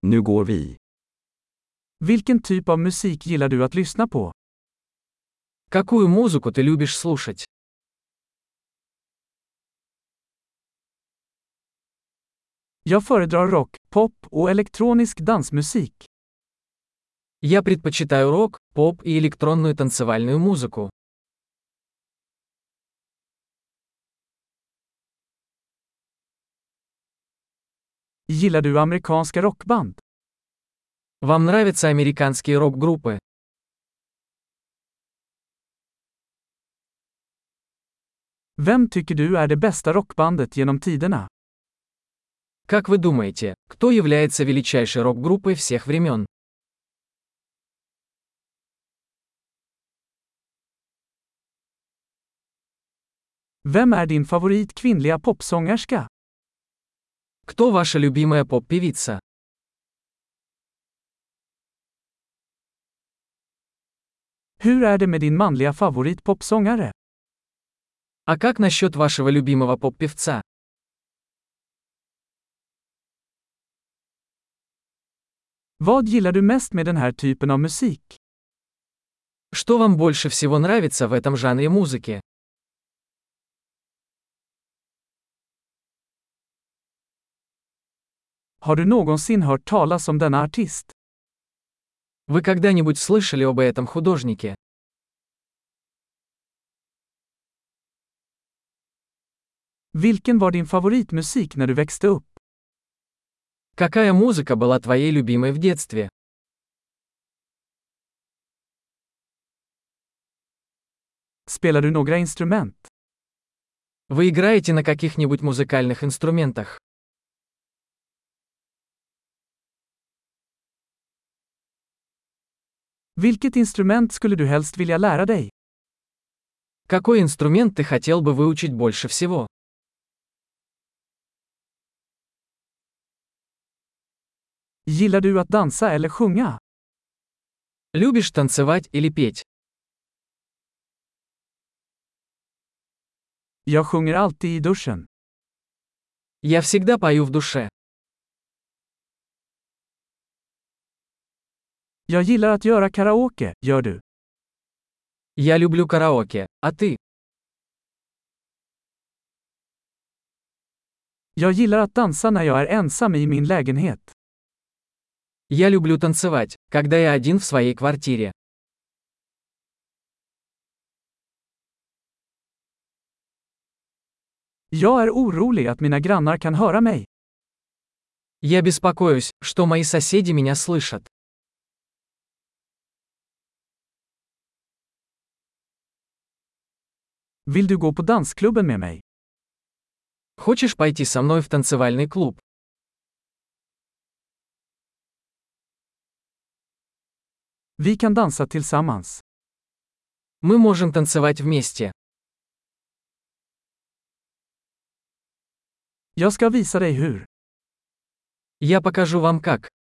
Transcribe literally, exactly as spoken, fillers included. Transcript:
Nu går vi. Vilken typ av musik gillar du att lyssna på? Какую музыку ты любишь слушать? Jag föredrar rock, pop och elektronisk dansmusik. Я предпочитаю рок, поп и электронную танцевальную музыку. Gillar du amerikanska rockband? Вам нравятся американские рок-группы? Vem tycker du är det bästa rockbandet genom tiderna? Как вы думаете, кто является величайшей рок-группой всех времен? Vem är din favorit kvinnliga popsångerska? Кто ваша любимая поп-певица? Hur är det med din manliga favorit popsångare? А как насчет вашего любимого поп-певца? Vad gillar du mest med den här typen av musik? Что вам больше всего нравится в этом жанре музыки? Har du någonsin hört talas om denna artist? Вы когда-нибудь слышали об этом художнике? Vilken var din favoritmusik när du växte upp? Какая музыка была твоей любимой в детстве? Spelar du några instrument? Вы играете на каких-нибудь музыкальных инструментах? Vilket instrument skulle du helst vilja lära dig? Какой инструмент ты хотел бы выучить больше всего? Gillar du att dansa eller sjunga? Любишь танцевать или петь? Jag sjunger alltid i duschen. Я всегда пою в душе. Jag gillar att göra karaoke, gör du? Я люблю караоке, а ты? Jag gillar att dansa när jag är ensam i min lägenhet. Я люблю танцевать, когда я один в своей квартире. Jag är orolig att mina grannar kan höra mig. Я беспокоюсь, что мои соседи меня слышат. Vill du gå på dansklubben med mig? Хочешь пойти со мной в танцевальный клуб? Vi kan dansa tillsammans. Мы можем танцевать вместе. Jag ska visa dig hur. Я покажу вам как.